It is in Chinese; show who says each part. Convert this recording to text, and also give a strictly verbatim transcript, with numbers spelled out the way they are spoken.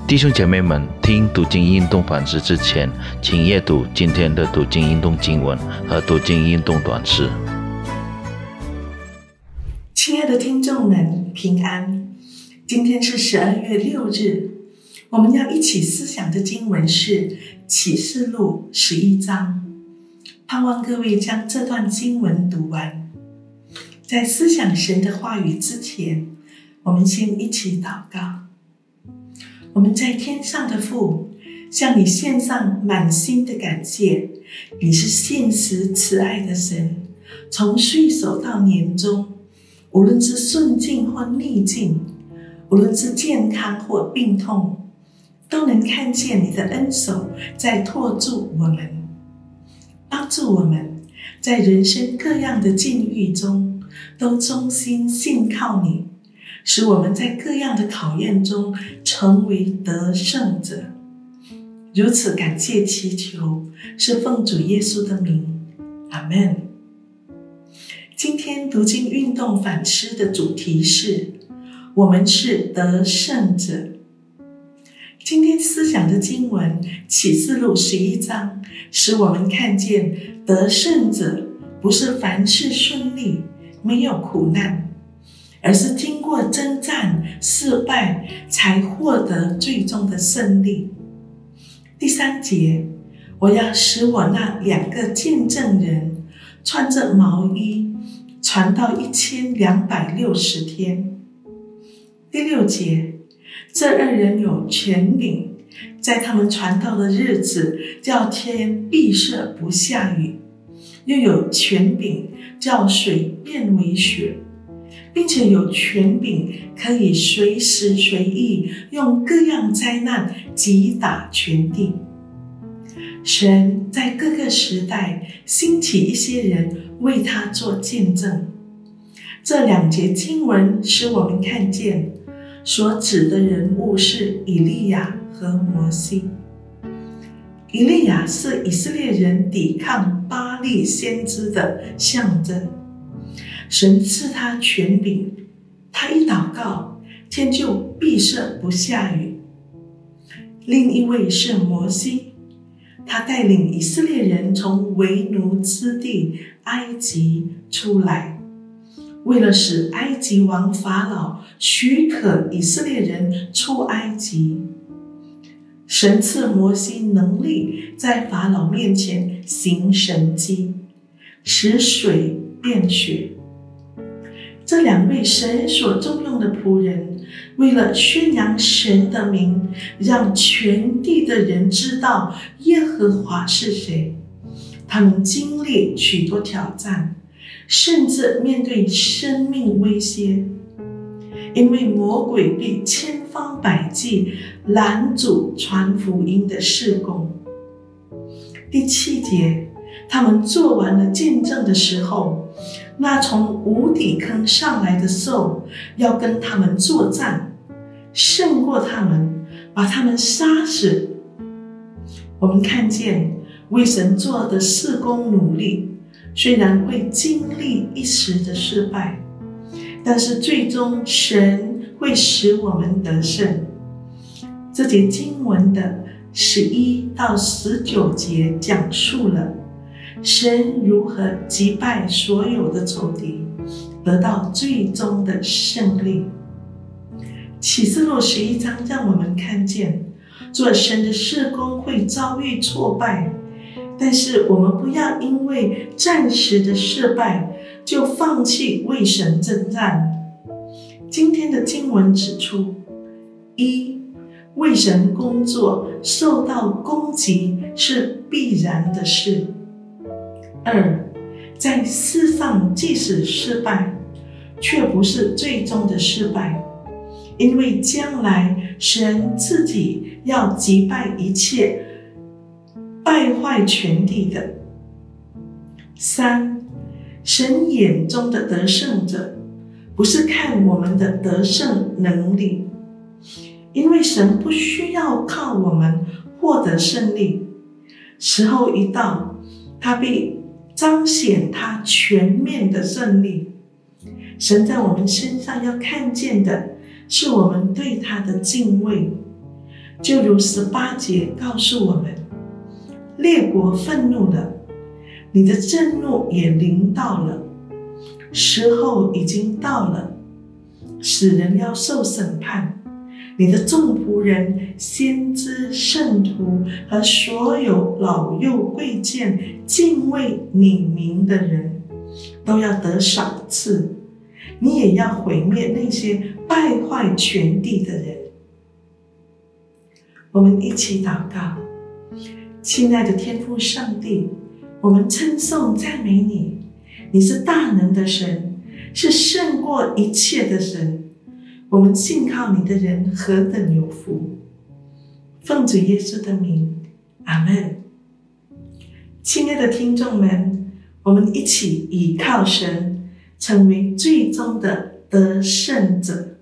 Speaker 1: 弟兄姐妹们，听读经运动反思之前，请阅读今天的读经运动经文和读经运动短诗。
Speaker 2: 亲爱的听众们，平安！今天是十二月六日，我们要一起思想的经文是启示录十一章。盼望各位将这段经文读完。在思想神的话语之前，我们先一起祷告。我们在天上的父，向你献上满心的感谢。你是信实慈爱的神，从岁首到年终，无论是顺境或逆境，无论是健康或病痛，都能看见你的恩手在托住我们，帮助我们在人生各样的境遇中都忠心信靠你，使我们在各样的考验中成为得胜者。如此感谢祈求，是奉主耶稣的名，阿们。今天读经运动反思的主题是我们是得胜者。今天思想的经文启示录十一章，使我们看见得胜者不是凡事顺利，没有苦难，而是经过征战失败才获得最终的胜利。第三节，我要使我那两个见证人穿着毛衣传到一千两百六十天。第六节，这二人有权柄，在他们传道的日子，叫天闭塞不下雨，又有权柄叫水变为血，并且有权柄可以随时随地用各样灾难击打全地。神在各个时代兴起一些人为他做见证。这两节经文使我们看见所指的人物是以利亚和摩西。以利亚是以色列人抵抗巴力先知的象征，神赐他权柄，他一祷告，天就闭塞不下雨。另一位是摩西，他带领以色列人从为奴之地埃及出来，为了使埃及王法老许可以色列人出埃及，神赐摩西能力在法老面前行神迹，使水变血。这两位神所重用的仆人，为了宣扬神的名，让全地的人知道耶和华是谁，他们经历许多挑战，甚至面对生命威胁，因为魔鬼必千方百计拦阻传福音的事工。第七节，他们做完了见证的时候，那从无底坑上来的兽要跟他们作战，胜过他们，把他们杀死。我们看见为神做的事工努力，虽然会经历一时的失败，但是最终神会使我们得胜。这节经文的十一到十九节讲述了神如何击败所有的仇敌，得到最终的胜利。启示录十一章让我们看见，做神的事工会遭遇挫败，但是我们不要因为暂时的失败就放弃为神征战。今天的经文指出，一，为神工作受到攻击是必然的事。二，在世上即使失败，却不是最终的失败，因为将来神自己要击败一切败坏全地的。三，神眼中的得胜者，不是看我们的得胜能力，因为神不需要靠我们获得胜利，时候一到，他必彰显他全面的胜利。神在我们身上要看见的是我们对他的敬畏， 就如十八节告诉我们，列国愤怒了，你的震怒也临到了，时候已经到了，使人要受审判。你的众仆人、先知、圣徒和所有老幼贵贱敬畏你名的人，都要得赏赐。你也要毁灭那些败坏全地的人。我们一起祷告。亲爱的天父上帝，我们称颂赞美你，你是大能的神，是胜过一切的神。我们信靠你的人何等有福！奉主耶稣的名，阿们。亲爱的听众们，我们一起倚靠神，成为最终的得胜者。